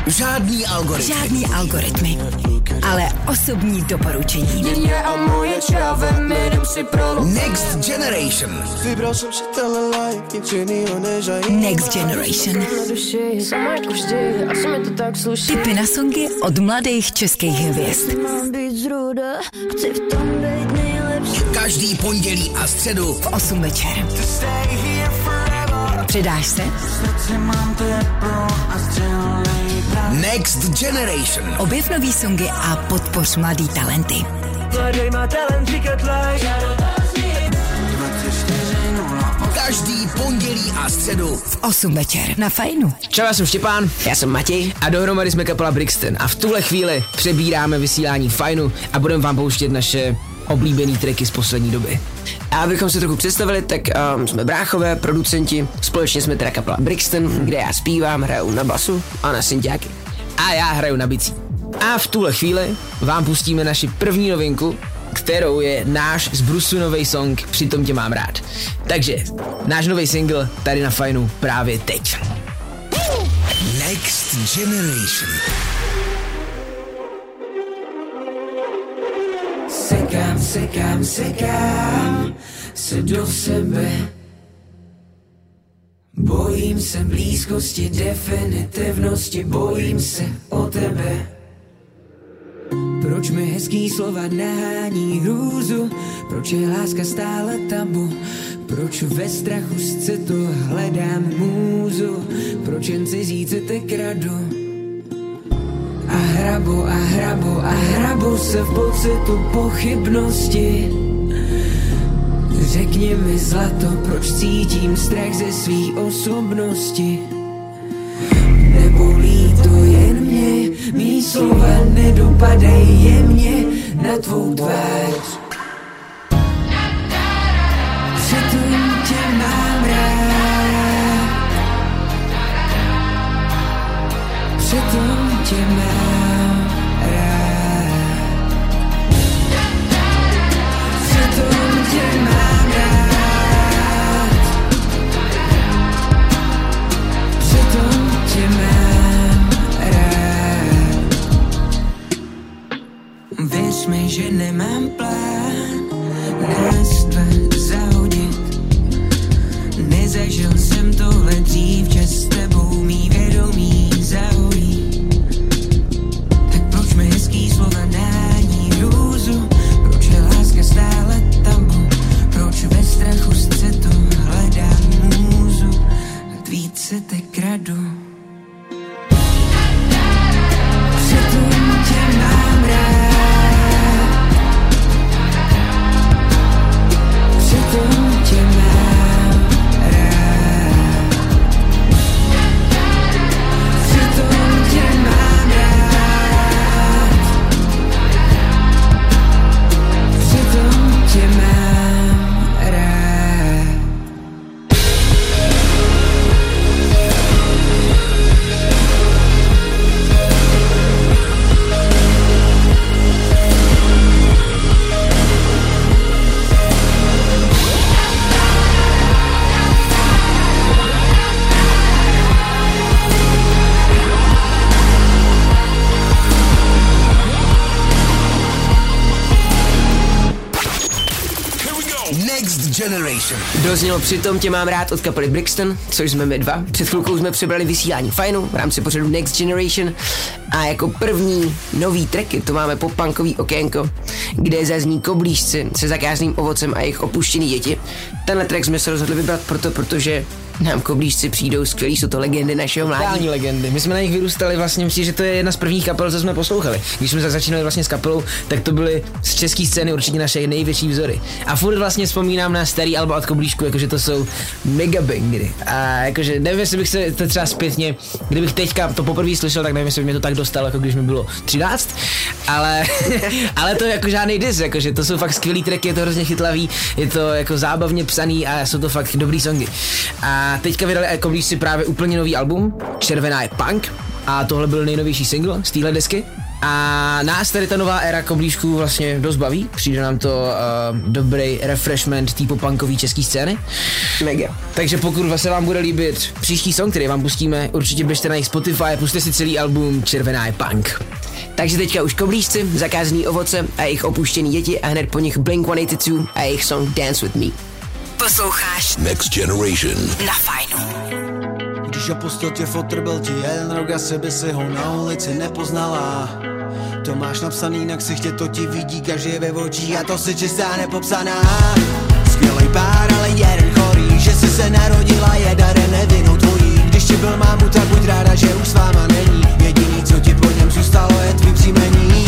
Žádný algoritmy. Ale osobní doporučení. Next Generation. Next Generation. Tipy na songy od mladých českých hvězd. Každý pondělí a středu v 8 večer. Přidáš se? Next Generation. Objev nový songy a podpoř mladý talenty. Každý pondělí a středu v 8 večer na Fajnu. Čau, já jsem Štěpán, já jsem Matěj a dohromady jsme kapela Brixton a v tuhle chvíli přebíráme vysílání Fajnu a budeme vám pouštět naše oblíbený tracky z poslední doby. A abychom se trochu představili, tak jsme bráchové, producenti, společně jsme teda kapela Brixton, kde já zpívám, hraju na basu a na synťáky. A já hraju na bicí. A v tuhle chvíli vám pustíme naši první novinku, kterou je náš z Brusu nový song Přitom tě mám rád. Takže náš nový single tady na Fajnu právě teď. Next Generation. Sekám se do sebe. Bojím se blízkosti, definitivnosti, bojím se o tebe. Proč mi hezký slova nahání hrůzu? Proč je láska stále tabu? Proč ve strachu z citu hledám můzu? Proč jen cizí city kradu? A hrabu se v pocitu pochybnosti. Řekni mi zlato, proč cítím strach ze svý osobnosti. Nebolí to jen mě, mý slova nedopadají jemně na tvou tvář. Přitom tě mám rád. Přitom tě mám rád. Přitom tě mám rád. Přitom tě mám rád. Věř mi, že nemám plán nás dva zahodit. Nezažil jsem tohle dřív, že s tebou mý vědomí zahojí. Tak proč mi hezký slova nahání hrůzu? Proč je láska stále tabu? Proč ve strachu z citu hledám můzu? Tvít se te kradu. Přitom tě mám rád. Přitom tě mám rád. Přitom tě mám rád. Přitom tě mám rád. Next Generation. Doznělo Přitom tě mám rád od kapely Brixton, což jsme my dva. Před chvilkou jsme přebrali vysílání Fajnu v rámci pořadu Next Generation a jako první nový tracky to máme pop-punkový okénko, kde zazní Koblížci se zakázným ovocem a jejich opuštěný děti. Tenhle track jsme se rozhodli vybrat protože nám Koblížci přijdou skvělí, jsou to legendy našeho mládí. Totální legendy. My jsme na nich vyrůstali, vlastně myslím, že to je jedna z prvních kapel, co jsme poslouchali. Když jsme začínali vlastně s kapelou, tak to byly z české scény určitě naše největší vzory. A furt vlastně vzpomínám na starý alba od Koblížku, jakože to jsou mega bangery. A jakože nevím, jestli bych se to třeba zpětně, kdybych teďka to poprvé slyšel, tak nevím, jestli by mě to tak dostalo, jako když mi bylo 13, ale to je jako žádný diss, jakože to jsou fakt skvělý tracky, je to hrozně chytlavý, je to jako zábavně psaný a jsou to fakt dobrý songy. A teďka vydali Koblížci právě úplně nový album, Červená je punk, a tohle byl nejnovější single z téhle desky. A nás tady ta nová éra koblížků vlastně dost baví, přijde nám to dobrý refreshment té popunkové české scény. Mega. Takže pokud se vám bude líbit příští song, který vám pustíme, určitě běžte na jejich Spotify a puste si celý album Červená je punk. Takže teďka už koblížci, zakázaný ovoce a jejich opuštěný děti a hned po nich Blink-182 a jejich song Dance With Me. Posloucháš Next Generation na Fajnu. Když opustil tě fotr, byl ti jeden rok a sebe si ho na ulici nepoznala. To máš napsaný na ksichtě, to ti vidí každý ve očích a to si čistá nepopsaná. Skvělej pár, ale jeden chorý, že jsi se narodila je darem nevinou tvojí. Když ti byl mámu, tak buď ráda, že už s váma není. Jediný, co ti po něm zůstalo, je tvý příjmení.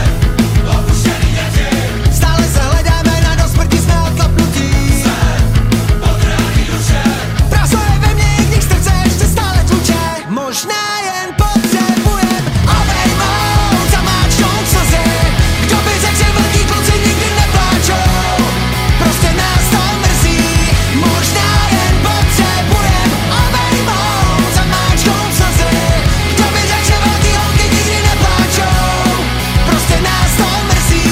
Stále se hledáme, na do smrti jsme odklapnutí. Prázdno je ve mně, i když srdce ještě stále tluče. Možná jen potřebujem obejmout, zamáčknout slzy. Kdo by řekl, že velký kluci nikdy nepláčou? Prostě nás to mrzí. Možná jen potřebujem obejmout, zamáčknout slzy. Kdo by řekl, že velký holky nikdy nepláčou? Prostě nás to mrzí.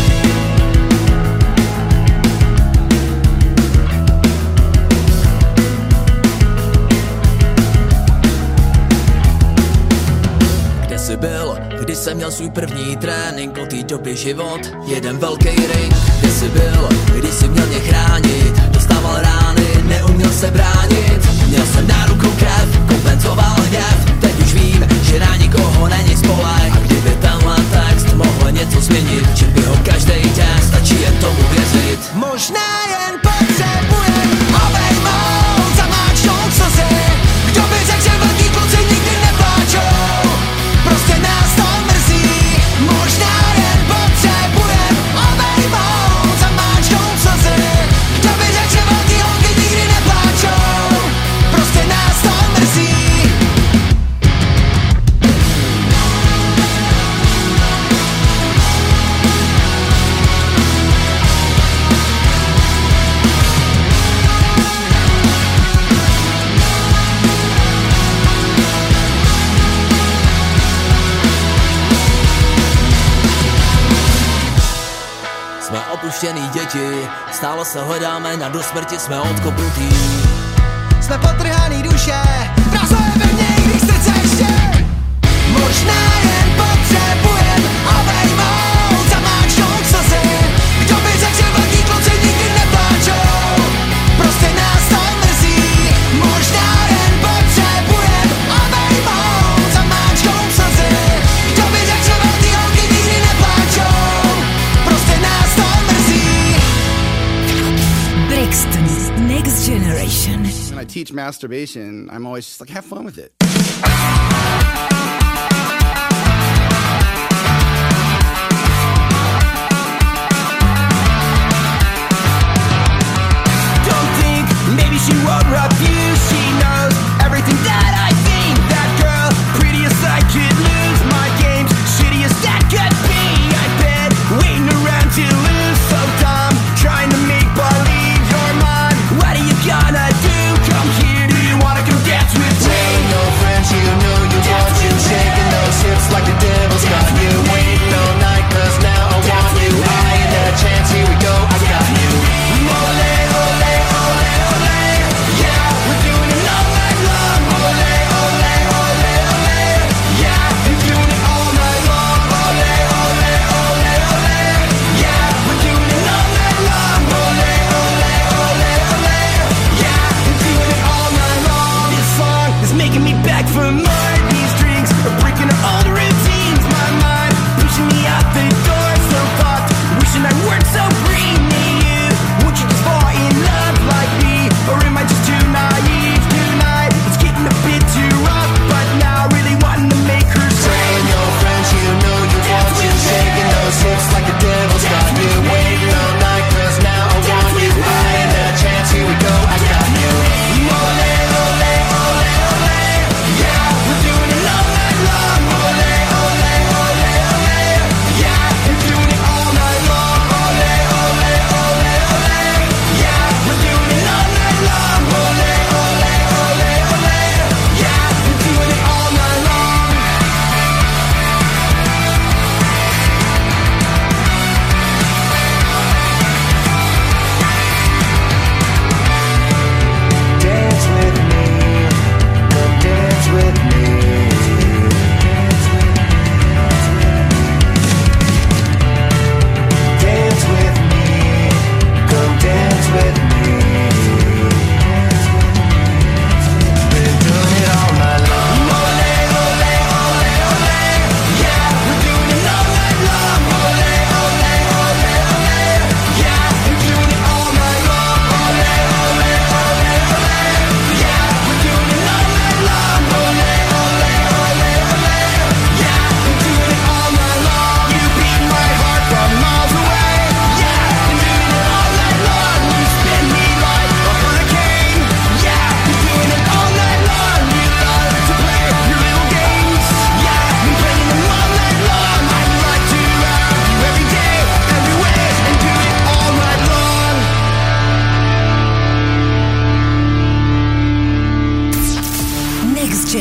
Kde jsi byl, když jsem měl svůj první trénink, od té doby život, jeden velký ring. Kde jsi byl, když jsi měl mě chránit, dostával rány, neuměl se bránit. Měl jsem na rukou krev, kompenzoval hněv, teď už vím, že na nikoho není spolek. A kdyby tenhle text mohl něco změnit, čím by ho každý den, stačí jen tomu věřit. Možná jen potřebujem obejmout, zamáčknout slzy. Kdo by řekl, že velký kluci nikdy nepláčou? Prostě nás to mrzí. Možná jen potřebujem obejmout, zamáčknout slzy. Kdo by řekl, že velký holky nikdy nepláčou? Prostě nás to mrzí. Jsme opuštěný děti, stále se hledáme, na do smrti jsme odkopnutí. Jsme potrhaný duše, prázdno je ve mně, i když srdce ještě. Možná jen potřebujem obejmout, zamáčknout slzy. Kdo by řekl, že velký kluci nikdy nepláčou? Prostě nás to mrzí. Možná jen potřebujem obejmout, zamáčknout slzy. Kdo by řekl, že velký holky nikdy nepláčou? Prostě nás to mrzí. Brixton Next Generation. When I teach masturbation, I'm always just like, have fun with it. Don't think, maybe she won't refuse. She knows everything that I think. That girl, prettiest I could lose. My game's shittiest that could be. I've been waiting around to lose. So dumb, trying to make believe you're mine. What are you gonna do? Come here, do you wanna come dance with me? No friends, you know you want to. Shaking those hips like the devil's got you. Waiting all night, cause now I want you. I ain't had a chance, here we go, I got you. Ole, ole, ole, ole. Yeah,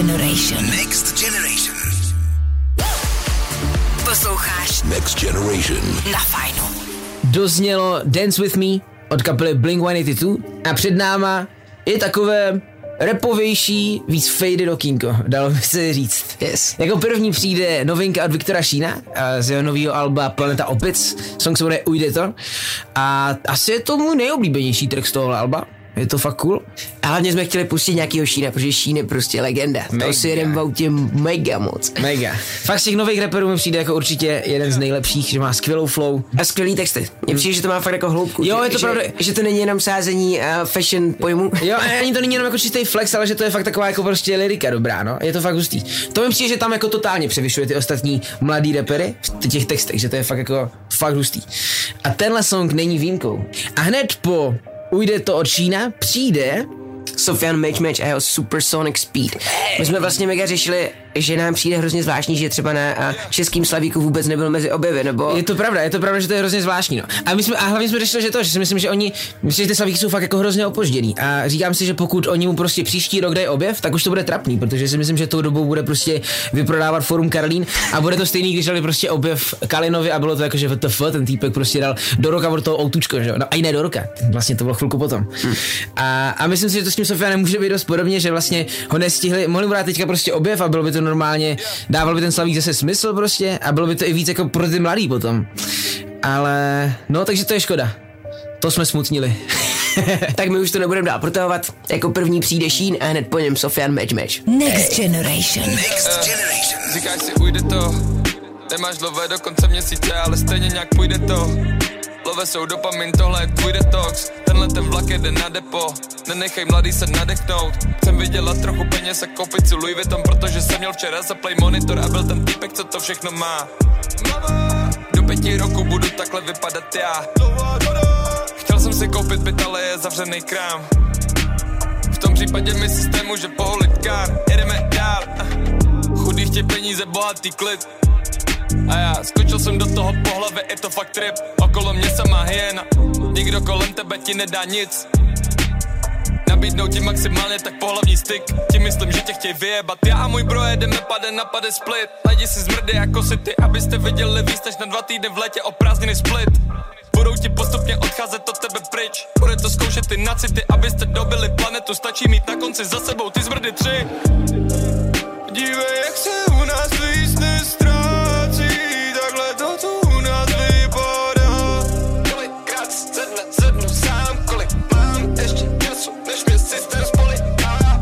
Generation. Next Generation. Posloucháš Next Generation. na Fajnu. Doznělo Dance With Me od kapely Blink-182 a před náma je takové rapovější, víc faded okýnko, dalo by se říct. Yes. Jako první přijde novinka od Viktora Šína z jeho nového alba Planeta Opic, song se jmenuje Ujde to a asi je to můj nejoblíbenější track z toho alba. Je to fakt cool. A hlavně jsme chtěli pustit nějakýho Šína, protože Šín je prostě legenda. To si jedem v autě mega moc. Mega. Fakt z těch nových rapperů mi přijde jako určitě jeden z nejlepších, že má skvělou flow. A skvělý texty. Mně přijde, že to má fakt jako hloubku. Jo, je to pravda. Že to není jenom sázení fashion pojmu. Jo, ani to není jenom jako čistý flex, ale že to je fakt taková jako prostě lyrika dobrá, no. Je to fakt hustý. To mi přijde, že tam jako totálně převyšuje ty ostatní mladý rappery v těch textech, že to je fakt jako fakt hustý. A tenhle song není výjimkou. A hned po Ujde to od Šína přijde Sofian Match a jeho Supersonic Speed. My jsme vlastně mega řešili, že nám přijde hrozně zvláštní, že třeba na českým slavíku vůbec nebyl mezi objevy, nebo... Je to pravda, že to je hrozně zvláštní, no. A hlavně jsme řešili, že si myslím, že že ty slavíky jsou fakt jako hrozně opožděný. A říkám si, že pokud oni mu prostě příští rok dají objev, tak už to bude trapný, protože si myslím, že tou dobou bude prostě vyprodávat Forum Karlín a bude to stejný, když dali prostě objev Kalinovi a bylo to jako, že WTF, ten týpek prostě dal do roka od toho outučko, že jo. No a i ne do roka, vlastně to bylo chvilku potom. A myslím si, že to s tím Sofianem může být dost podobně, že vlastně ho nestihli, mohli mu dát teďka prostě objev a bylo by to normálně, dával by ten slavík zase smysl prostě a bylo by to i víc jako pro ty mladý potom. Ale no, takže to je škoda. To jsme smutnili. Tak my už to nebudeme dál protahovat. Jako první přijde Šín a hned po něm Sofian Match. Next Generation. Next Generation. Říkáš si, ujde to. Nemáš lové do konce měsíce, ale stejně nějak půjde to. Love jsou dopamin, tohle je tvůj detox. Tenhle ten vlak jede na depo. Nenechej mladý se nadechnout. Chcem vydělat trochu peněz a koupit si Louis Vuitton, protože jsem měl včera za play monitor a byl ten týpek, co to všechno má. Do 5 roku budu takhle vypadat já. Chtěl jsem si koupit byt, ale je zavřený krám. V tom případě mi systému, že poholit kár. Jedeme dál. Chudý chtějí peníze, bohatý klid. A já skočil jsem do toho po hlavě, je to fakt trip. Okolo mě samá hyena. Nikdo kolem tebe ti nedá nic. Nabídnou ti maximálně tak pohlavní styk. Ti myslím, že tě chtěj vyjebat. Já a můj bro jedeme pade na pade split. Najdi si zmrdy jako si ty, abyste viděli víc než na 2 týdny v létě o prázdniny split. Budou ti postupně odcházet od tebe pryč. Bude to zkoušet ty nacity, abyste dobili planetu. Stačí mít na konci za sebou ty zmrdy 3. Dívej, jak se u nás víc nestrácí. Takhle to tu u nás vypadá. Kolikrát sednu sám, kolik mám ještě času, než mě systém spoleká.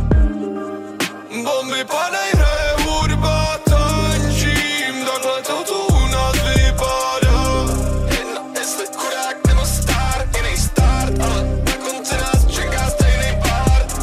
Bomby padají, hraje hudba, tančím. Takhle to tu u nás vypadá. Jedno, jestli chudák nebo star, jiný start, ale na konci nás čeká stejný part.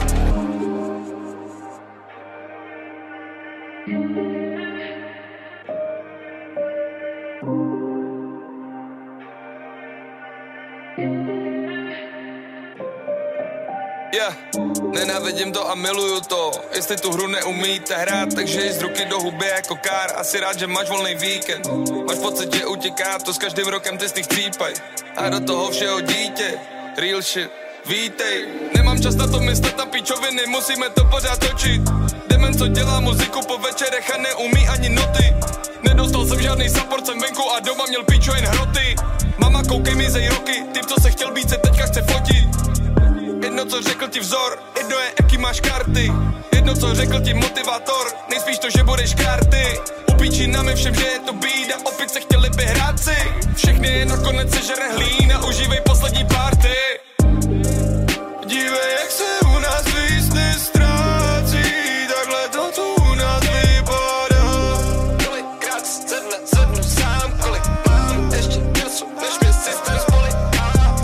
Yeah. Nenávidím to a miluju to. Jestli tu hru neumíte hrát, takže ji z ruky do huby jako kár. Asi rád, že máš volný víkend. Máš pocit, že utěká, to s každým rokem ty z nich třípaj. A do toho všeho dítě, real shit, vítej. Nemám čas na to myslet na píčoviny, musíme to pořád točit. Demen, co dělá muziku po večerech a neumí ani noty. Nedostal jsem žádný support, jsem venku a doma měl píčo jen hroty. Mama, koukej mi zej roky, typ, co se chtěl být, se teďka chce fotit. Jedno, co řekl ti vzor, jedno je, jaký máš karty. Jedno, co řekl ti motivátor, nejspíš to, že budeš karty. Upíčí nám všem, že je to bída, opět se chtěli by hrát si. Všechny je nakonec sežere hlína, užívej poslední party. Dívej, jak se u nás víc nestrácí, takhle to tu u nás vypadá. Kolikrát sednu sám, kolik mám ještě času, než mě systém spoleká.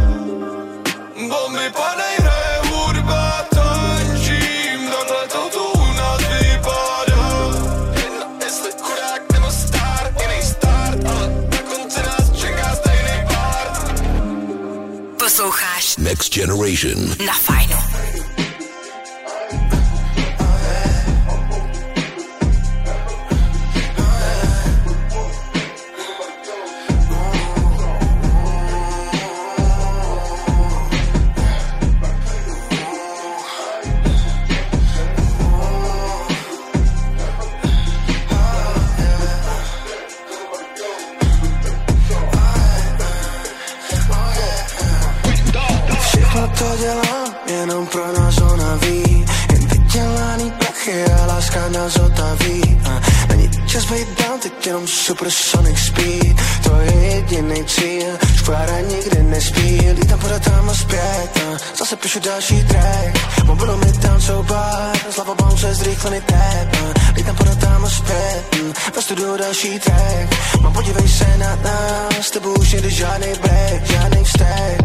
Bomby padají, hraje hudba, tančím, takhle to tu u nás vypadá. Jedno, jestli chudák nebo star, jiný start, ale na konci nás čeká stejný part. Posloucháš Next Generation. na Fajnu. láska nás otaví. Není čas být down, teď jenom supersonic speed. To je jedinej cíl, škvára nikdy nespí. Lítám podatám a zpět, zase píšu další track. Mobilu mi tam soubar, slava bounce, zrychlený tap. Lítám podatám a zpět, ve studiu další track. Mám podívej se na nás, s tebou už nejde žádnej break, žádnej vztek.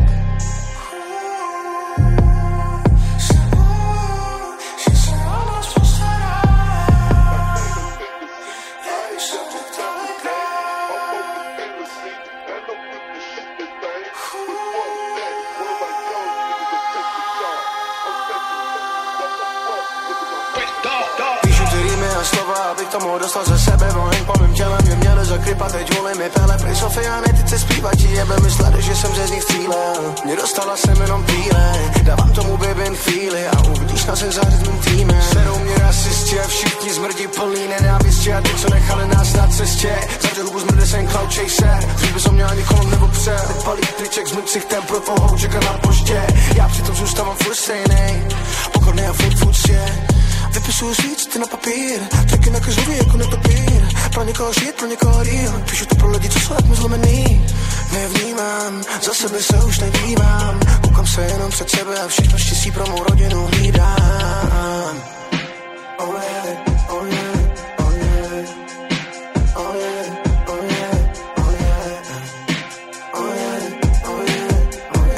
Slova, abych tomu dostal ze sebe vojen po mým tělem, mě měli zakrypat, teď volím mi pele, prý Sofiány, ty chce zpívat, ti jebe mysleli, že jsem ze z nich střílel, mě dostala jsem jenom píle, dávám tomu baby chvíli a uvidíš nás jak zářit mým týmem. Serou mě rasisti a všichni zmrdí plný nenávisti a ty, co nechali nás na cestě, zavře hubu zmrde jsem cloud chaser, dřív bys o mě ani kolem nebo přel, teď palí triček s mým ksichtem pro tvou čeká na poště, já přitom zůstávám furt stejnej, pokorný a furt vypisuju svíc, ty na papír, taky na každý jako netopír. Pro někoho žít, pro někoho real, píšu to pro lidi, co jsou jak mi zlomený. Nevnímám, za sebe se už nedívám, koukám se jenom před sebe a všechno štěstí pro mou rodinu hlídám. Oh yeah, oh yeah, oh yeah, oh yeah, oh yeah, oh yeah, oh yeah, oh yeah, oh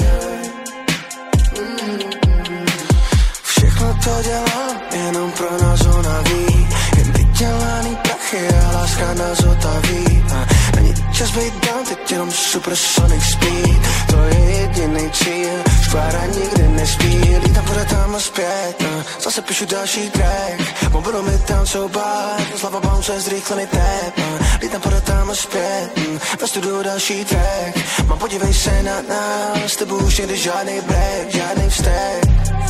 yeah. Všechno to dělám jenom pro nás ona ví, jen vydělaný prachy a láska nás otaví. Není čas být down, teď jenom supersonic speed. To je jedinej cíl, škvára nikdy nespí. Lítám podatám a zpět, zase píšu další track. Mobilu mi tam soubar, slava bounce, zrychlený tap. Lítám podatám a zpět, ve studiu další track. Mám podívej se na nás, s tebou už nejde žádnej break, žádnej vztek.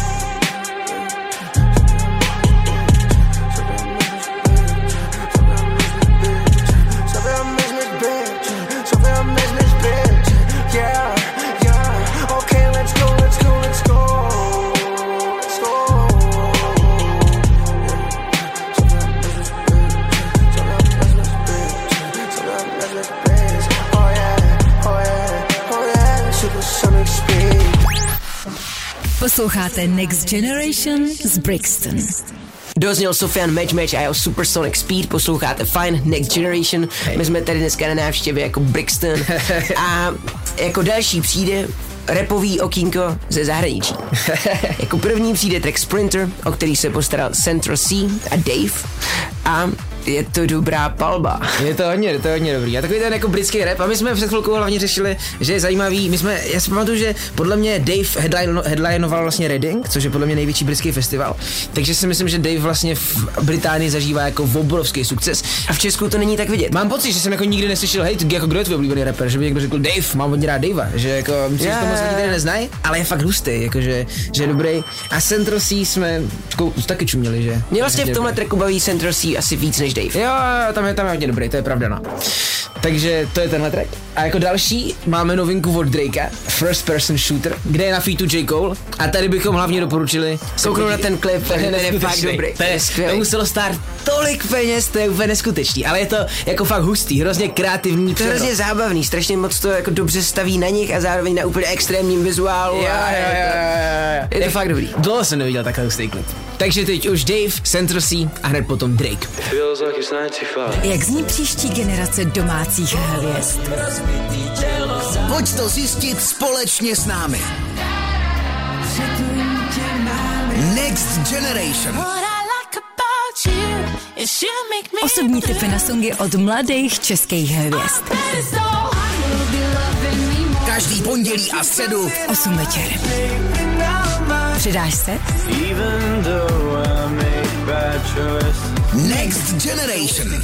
Posloucháte Next Generation z Brixton. Dozněl Sofian Match a jeho Supersonic Speed, posloucháte fajn Next Generation. My jsme tady dneska na návštěvě jako Brixton a jako další přijde rapový okýnko ze zahraničí. Jako první přijde track Sprinter, o který se postaral Central C a Dave a je to dobrá palba. Je to hodně dobrý. A takový ten jako britský rap. A my jsme před chvilkou hlavně řešili, že je zajímavý. Já si pamatuju, že podle mě Dave headlinoval vlastně Reading, což je podle mě největší britský festival. Takže si myslím, že Dave vlastně v Británii zažívá jako obrovský sukces. A v Česku to není tak vidět. Mám pocit, že jsem jako nikdy neslyšel, hej, jako kdo je tvůj oblíbený rapper, že by někdo řekl Dave, mám hodně rád Davea, že jako myslím, že to moc lidé neznají, ale je fakt hustý, jakože že je dobrý. A Central C jsme taky čuměli, že? Mě vlastně v tomhle tracku baví Central C asi víc než Dave. Jo, tam je hodně dobrý, to je pravda, no. Takže to je tenhle track. A jako další máme novinku od Drakea, First Person Shooter, kde je na featu J. Cole. A tady bychom hlavně doporučili kouknout na ten klip, ten je fakt dobrý. To muselo stát tolik peněz, to je úplně neskutečný, ale je to jako fakt hustý, hrozně kreativní. To je hrozně zábavný, strašně moc to jako dobře staví na nich a zároveň na úplně extrémním vizuálu. Je to fakt dobrý. Dlouho jsem neviděl takhle hustý klip. Takže teď už Dave, Central C a hned potom Drake. Jak zní příští generace domácích hvězd? Pojď to zjistit společně s námi. Next Generation. Osobní tipy na songy od mladých českých hvězd. Každý pondělí a středu 8 večer. Přidáš se? Next Generation.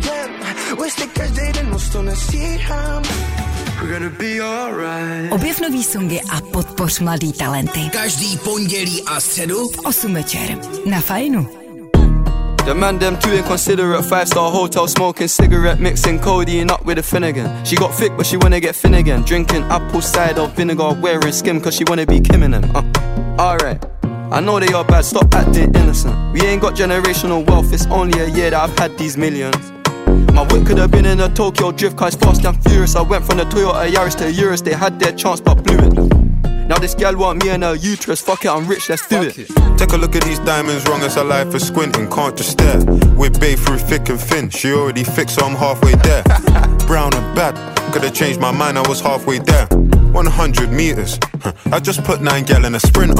Objev nový songy a podpoř mladý talenty. Každý pondělí a středu 8 večer. Na Fajnu. The man them too inconsiderate, 5-star hotel smoking cigarette, mixing codeine up with a Finnegan. She got thick but she wanna get thin again, drinking apple cider vinegar, wearing skim cause she wanna be Kim in them. Alright, I know they are bad, stop acting innocent. We ain't got generational wealth, it's only a year that I've had these millions. My whip could have been in a Tokyo drift car, it's fast and furious. I went from the Toyota Yaris to Urus, they had their chance but blew it. Now this gal want me and her uterus, fuck it, I'm rich, let's do it. Take a look at these diamonds, wrong as her life is squinting, can't just stare. With babe through thick and thin, she already fixed so I'm halfway there. Brown and bad, could've changed my mind, I was halfway there. 100 meters, I just put 9 gal in a Sprinter.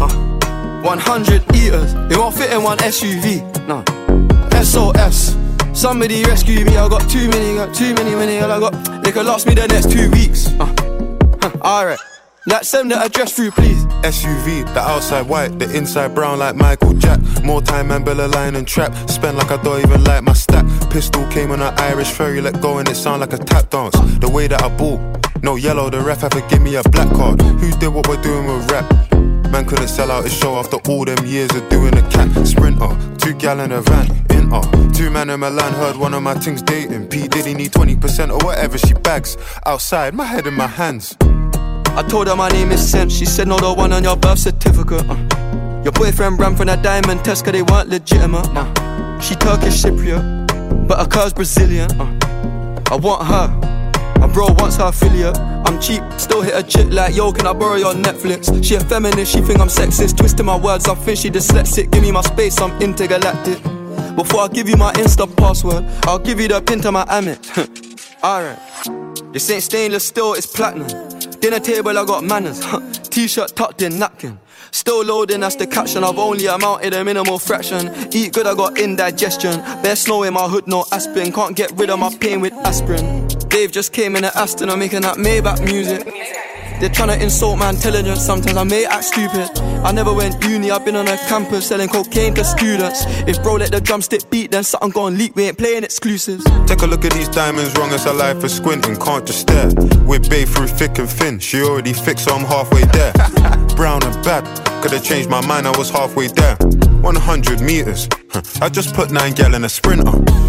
100 eaters, it won't fit in one SUV, no. SOS, somebody rescue me, I got too many, I got, they could last me the next 2 weeks. Alright, like send the address through please. SUV, the outside white, the inside brown like Michael Jack. More time and Bella line and trap, spend like I don't even like my stack. Pistol came on an Irish ferry, let go and it sound like a tap dance. The way that I ball, no yellow, the ref had to give me a black card. Who did what we're doing with rap? Man couldn't sell out his show after all them years of doing a cat. Sprinter, 2 gal in a van, Inter. 2 man in Milan, heard one of my things dating. P Diddy need 20% or whatever she bags. Outside, my head in my hands. I told her my name is Sam, she said no, the one on your birth certificate. Your boyfriend ran from that diamond test cause they weren't legitimate. She Turkish Cypriot, but her car's Brazilian. I want her, my bro wants her affiliate. I'm cheap, still hit a chick like, yo, can I borrow your Netflix? She a feminist, she think I'm sexist, twisting my words, I think she dyslexic. Give me my space, I'm intergalactic. Before I give you my Insta password, I'll give you the pin to my Amex. Alright, this ain't stainless steel, it's platinum. Dinner table, I got manners. T-shirt tucked in, napkin. Still loading, that's the caption. I've only amounted a minimal fraction. Eat good, I got indigestion. Bare snow in my hood, no aspirin. Can't get rid of my pain with aspirin. Dave just came in at Aston, I'm making that Maybach music. They're tryna insult my intelligence, sometimes I may act stupid. I never went uni, I've been on a campus selling cocaine to students. If bro let the drumstick beat, then something gon' leak, we ain't playing exclusives. Take a look at these diamonds, wrong as her life is squinting, can't just stare. With babe through thick and thin, she already fixed so I'm halfway there. Brown and bad, could've changed my mind, I was halfway there. 100 meters, I just put 9 gal in a Sprinter.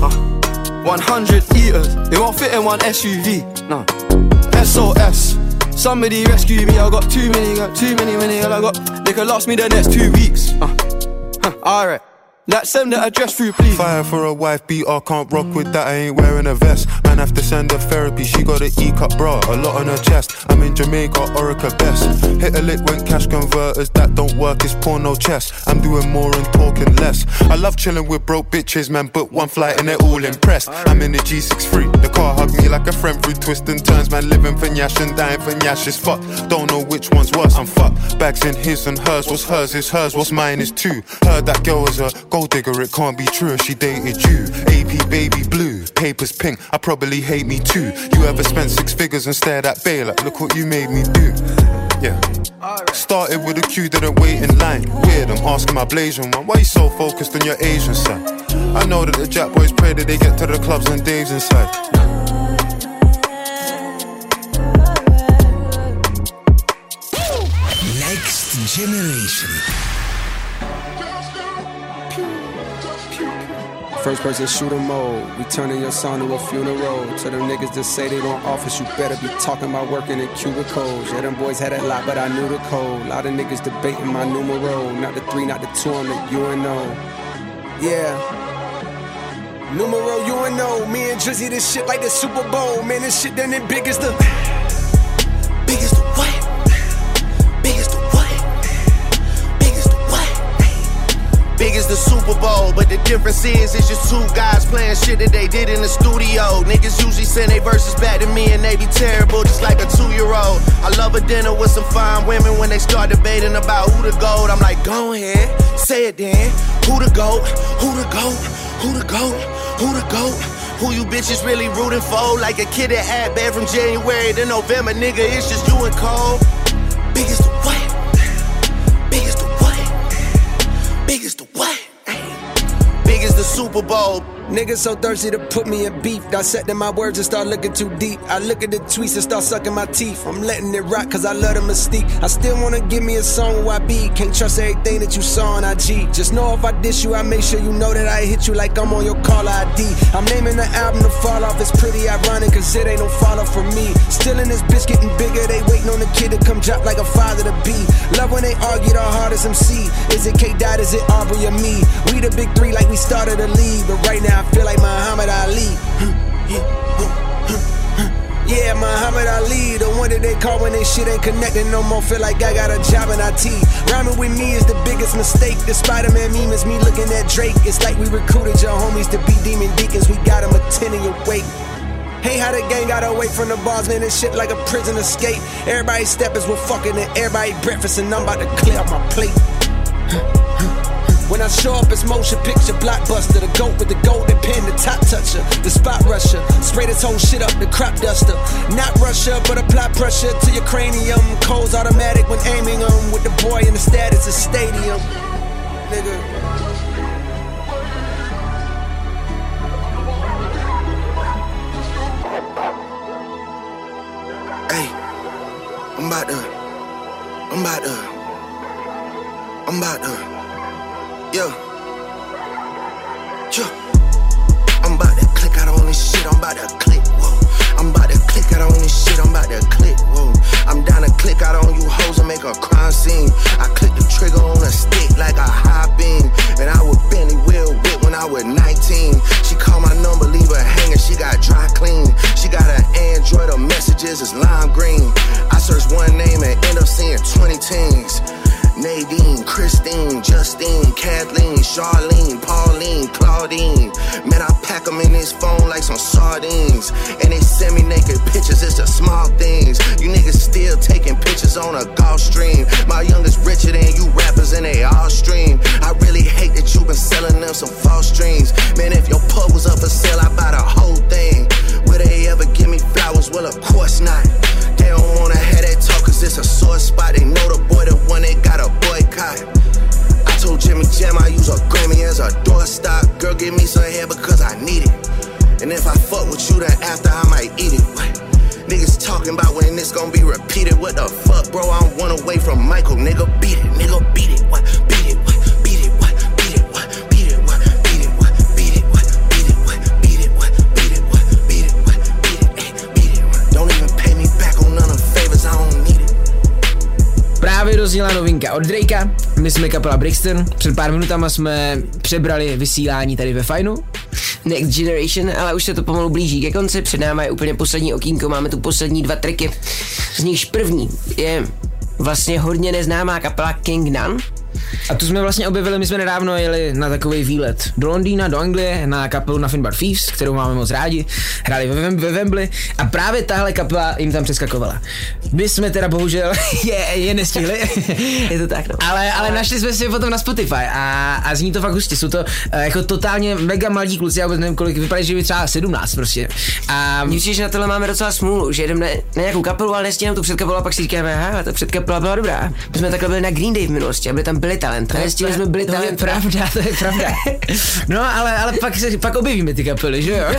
100 eaters, it won't fit in one SUV, no. SOS, somebody rescue me, I got too many, I got, they could last me the next 2 weeks. Alright, like send the address through please. Fire for a wife beater, can't rock with that, I ain't wearing a vest. Man have to send her therapy, she got an E-cup bra, a lot on her chest. I'm in Jamaica, Orica best. Hit a lick when cash converters, that don't work, it's porno chess. I'm doing more and talking less. I love chilling with broke bitches, man, book one flight and they're all impressed. I'm in the G63, the car hugged me like a friend through twists and turns. Man living for Nyash and dying for Nyash is fucked. Don't know which one's worse, I'm fucked. Bags in his and hers, what's hers is hers, what's mine is too. Heard that girl was a gold digger, it can't be true if she dated you. AP baby blue, papers pink, I probably hate me too. You ever spent 6 figures and stared at Bay like, look what you made me do. Yeah. Started with a queue, didn't wait in line. Weird, I'm asking my Blasian one, why you so focused on your Asian side? I know that the Jack boys pray that they get to the clubs and Dave's inside. Next Generation. First person shooter mode, we turning your song to a funeral. To them niggas that say they don't office, you better be talking about working in cubicles. Yeah, them boys had a lot, but I knew the code. Lot of niggas debating my numero. Not the 3, not the 2, on the UNO. Yeah. Numero UNO, me and Drizzy, this shit like the Super Bowl. Man, this shit done it big as the... Big as the what? Big as the what? Big as the what? Big as the Super Bowl, but the difference is it's just 2 guys playing shit that they did in the studio. Niggas usually send they verses back to me and they be terrible, just like a 2-year-old. I love a dinner with some fine women. When they start debating about who the GOAT, I'm like, go ahead, say it then. Who the GOAT? Who the GOAT? Who the GOAT? Who the GOAT? Who you bitches really rooting for? Like a kid that had bad from January to November, nigga, it's just you and Cole. Big as the what? Big as the what? Big as the what? Big as the the Super Bowl. Niggas so thirsty to put me in beef. Dissecting my words and start looking too deep. I look at the tweets and start sucking my teeth. I'm letting it rock cause I love the mystique. I still wanna give me a song where I be. Can't trust everything that you saw on IG. Just know if I diss you, I make sure you know that I hit you like I'm on your caller ID. I'm naming the album The Fall Off. It's pretty ironic cause it ain't no fall off for me. Still in this bitch getting bigger. They waiting on the kid to come drop like a father to be. Love when they argue the hardest MC. Is it K-Dot, is it Aubrey or me? We the big three like we started a league. But right now I feel like Muhammad Ali. Yeah, Muhammad Ali, the one that they call when they shit ain't connecting no more. Feel like I got a job in IT. Rhyming with me is the biggest mistake. The Spider-Man meme is me looking at Drake. It's like we recruited your homies to be demon deacons. We got them attending your wake. Hey, how the gang got away from the bars, man, this shit like a prison escape. Everybody steppers were fucking and everybody breakfast, and I'm about to clear up my plate. When I show up, it's motion picture blockbuster. The goat with the golden pen, the top toucher, the spot rusher. Spray this whole shit up, the crop duster. Not Russia, but apply pressure to your cranium. Codes automatic when aiming them. With the boy in the status of stadium. Nigga. Hey, I'm about to. Yeah. I'm about to click out on this shit, I'm about to click, whoa. I'm about to click out on this shit, I'm about to click, whoa. I'm down to click out on you hoes and make a crime scene. I click the trigger on a stick like a high beam. And I would Bentley wheel whip when I was 19. She called my number, leave her hanging, she got dry clean. She got an Android, her messages is lime green. I search one name and end up seeing 20 teens. Nadine, Christine, Justine, Kathleen, Charlene, Pauline, Claudine. Man, I pack them in this phone like some sardines. And they send me naked pictures, it's the small things. You niggas still taking pictures on a golf stream. My youngest richer than you rappers and they all stream. I really hate that you been selling them some false dreams. Man, if your pub was up for sale, I'd buy the whole thing. Will they ever give me flowers? Well, of course not. They don't wanna have that talk cause it's a sore spot. They know the boy the one they got a boycott. I told Jimmy Jam I use a Grammy as a doorstop. Girl, give me some hair because I need it. And if I fuck with you, then after I might eat it. What? Niggas talking about when this gon' be repeated. What the fuck, bro? I'm one away from Michael. Nigga, beat it. Nigga, beat it. What? Beat it. What? Beat it. What? Beat it. What? Beat it. What? Beat it. What? Beat it. What? Beat it. What? Beat it. What? Beat it. What? Beat it. What? Beat it. Beat it. Don't even pay me back on none of the favors. I don't need it. Právě dozněla novinka od Drakea, my jsme kapela Brixton, před pár minutama jsme přebrali vysílání tady ve Fajnu. Next Generation, ale už se to pomalu blíží ke konci, před náma je úplně poslední okýnko, máme tu poslední 2 tracky, z nichž první je vlastně hodně neznámá kapela King Nun. A tu jsme vlastně objevili, my jsme nedávno jeli na takový výlet do Londýna, do Anglie, na kapelu Nothing But Thieves, kterou máme moc rádi, hráli ve Wembley a právě tahle kapela jim tam přeskakovala. My jsme teda bohužel je nestihli. Je to tak, no. Ale našli jsme si je potom na Spotify a zní to fakt hustě, jsou to jako totálně mega mladí kluci, já vůbec nevím kolik, vypadají, že by třeba 17 prostě. A mně přijde, že na tohle máme docela smůlu, že jdeme na nějakou kapelu, ale nestihneme tu předkapelu a pak si říkáme, aha, ta předkapela byla dobrá. My jsme takhle byli na Green Day v minulosti a byli tam Billy Talent. Nestihli jsme Billy Talent. To je pravda. No, ale pak objevíme ty kapely, že jo?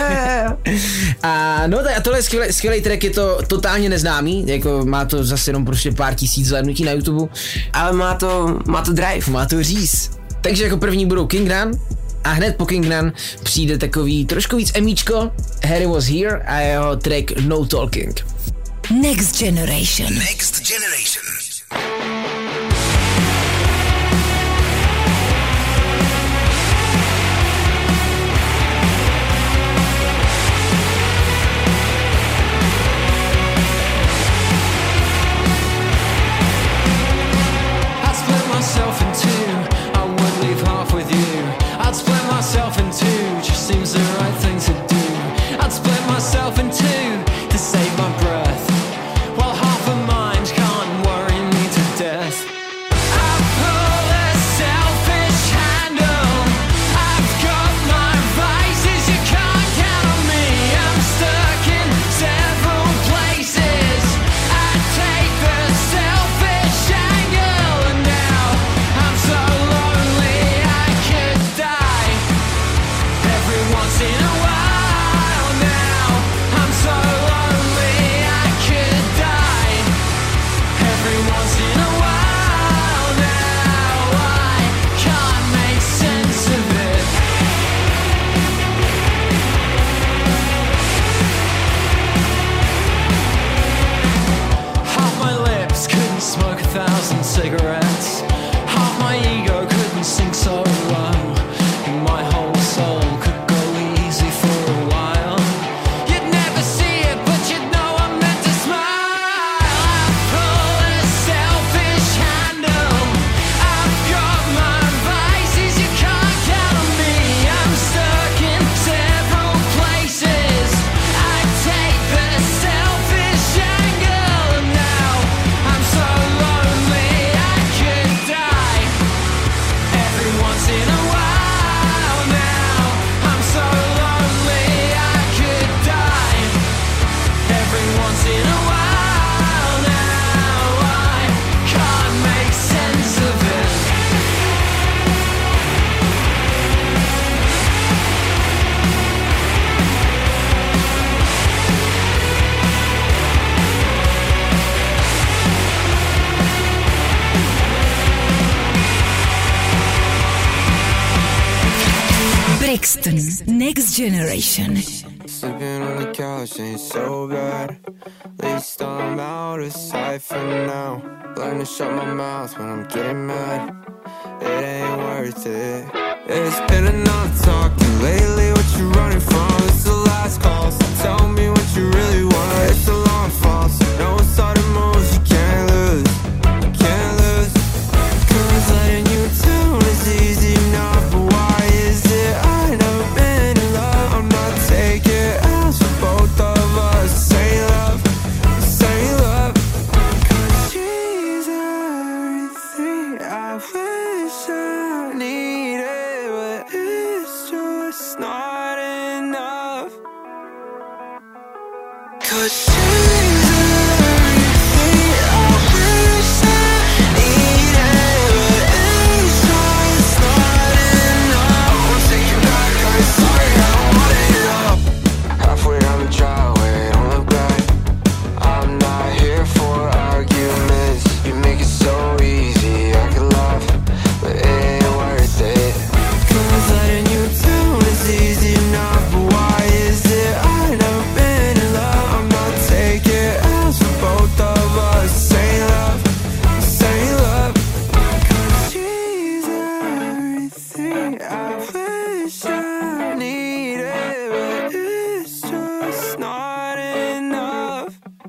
A no, a tohle je skvělý track, je to totálně neznámý, jako má to zase jenom prostě pár tisíc zhlédnutí na YouTube. Ale má to drive. Má to říz. Takže jako první budou King Nun a hned po King Nun přijde takový trošku víc emíčko, Harry Was Here a jeho track No Talking. Next Generation. Next Generation. once in a while now. I'm so lonely I could die. Every once in a while now I can't make sense of it. Half my lips couldn't smoke 1,000 cigarettes. Half my ego couldn't sink so low. My whole soul could go easy for a while. You'd never see it, but you'd know I'm meant to smile. I pull a selfish handle. I've got my vices, you can't count on me. I'm stuck in several places. I take the selfish angle. Now I'm so lonely I could die. Every once in a while now I'm so lonely I could die. Every once in a while now I can't make sense of it. Brixton Next Generation. Sleeping on the couch ain't so bad. At least I'm out of sight for now. Learn to shut my mouth when I'm getting mad. It ain't worth it. It's been enough talking lately. What you running from? It's the last call, so tell me what you really want. It's a long fall, so no sudden moves you can't lose. You can't lose. 'Cause letting you down is easy enough, but why is it I never been in love? I'm not taking else for both of us. Say love, say love. 'Cause she's everything I wish I needed, but it's just not enough. 'Cause she's everything I wish I needed, but it's just not enough. I'll take you back, I'm sorry, I don't want it all. Halfway down the driveway, don't look back. I'm not here for arguments. You make it so easy, I could laugh, but it ain't worth it. 'Cause letting you down is easy enough, but why is it I never been in love? I'm not taking else for both of us. Say love, say love. 'Cause she's everything I wish I needed, but it's just not enough.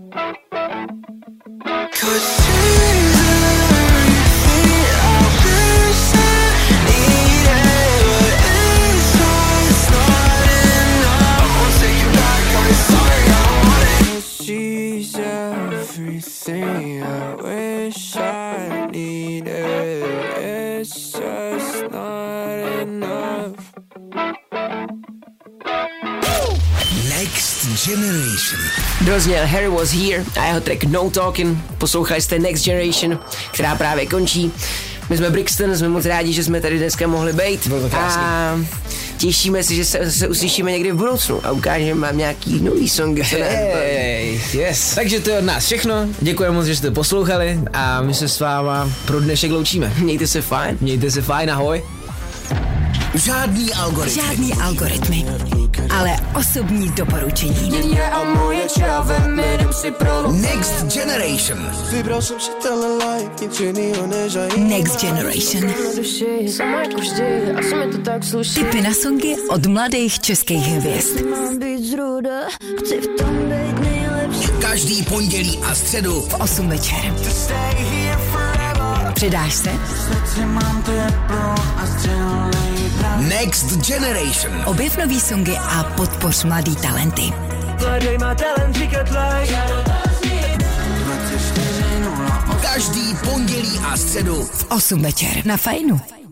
'Cause she's everything I wish I needed, but it's just not enough. I'll take you back, I'm sorry, I don't want it. 'Cause she's everything I wish I needed, it's just not enough. Next Generation. Dozněl Harry Was Here a jeho track No Talking. Poslouchali jste Next Generation, která právě končí. My jsme Brixton, jsme moc rádi, že jsme tady dneska mohli být. Bylo to krásný. A těšíme se, že se uslyšíme někdy v budoucnu a ukážeme vám nějaký nový song. Yes. Takže to je od nás všechno. Děkujeme moc, že jste poslouchali a my se s váma pro dnešek loučíme. Mějte se fajn. Mějte se fajn, ahoj. Žádný algoritmy. Žádný algoritmy, ale osobní doporučení. Next Generation. Vybral jsem si tenhle life, nic jinýho než Next Generation. Tipy na songy od mladých českých hvězd. Každý pondělí a středu v 8 večer. Přidáš se? Next Generation. Objev nový songy a podpoř mladý talenty. Každý pondělí a středu v 8 večer na Fajnu.